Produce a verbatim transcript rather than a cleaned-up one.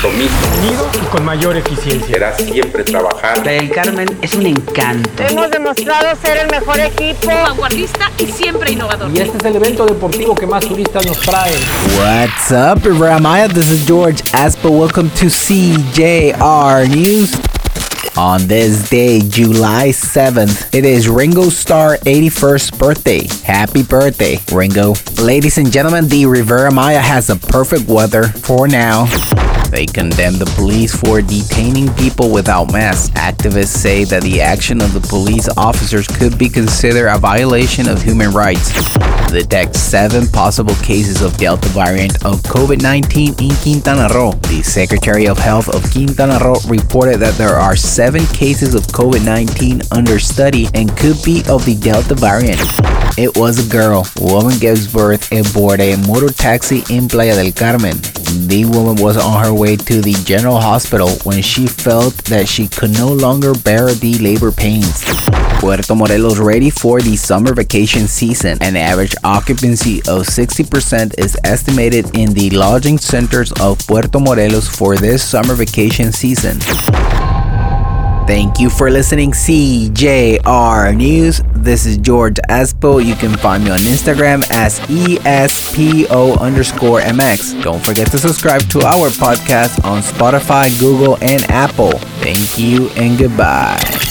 compromiso. Unido y con mayor eficiencia. Será siempre trabajar. Playa del Carmen es un encanto. Hemos demostrado ser el mejor equipo, vanguardista y siempre innovador. Y este es el evento deportivo que más turistas nos trae. What's up, Riviera Maya? This is George Aspo. Welcome to C J R News. On this day, July seventh, it is Ringo Starr's eighty-first birthday. Happy birthday, Ringo. Ladies and gentlemen, the Riviera Maya has a perfect weather for now. They condemn the police for detaining people without masks. Activists say that the action of the police officers could be considered a violation of human rights. Detect seven possible cases of Delta variant of COVID nineteen in Quintana Roo. The Secretary of Health of Quintana Roo reported that there are seven cases of COVID nineteen under study and could be of the Delta variant. It was a girl. Woman gives birth aboard a motor taxi in Playa del Carmen. The woman was on her way to the general hospital when she felt that she could no longer bear the labor pains. Puerto Morelos ready for the summer vacation season. An average occupancy of sixty percent is estimated in the lodging centers of Puerto Morelos for this summer vacation season. Thank you for listening, C J R News. This is George Aspo. You can find me on Instagram as E S P O underscore M X. Don't forget to subscribe to our podcast on Spotify, Google, and Apple. Thank you and goodbye.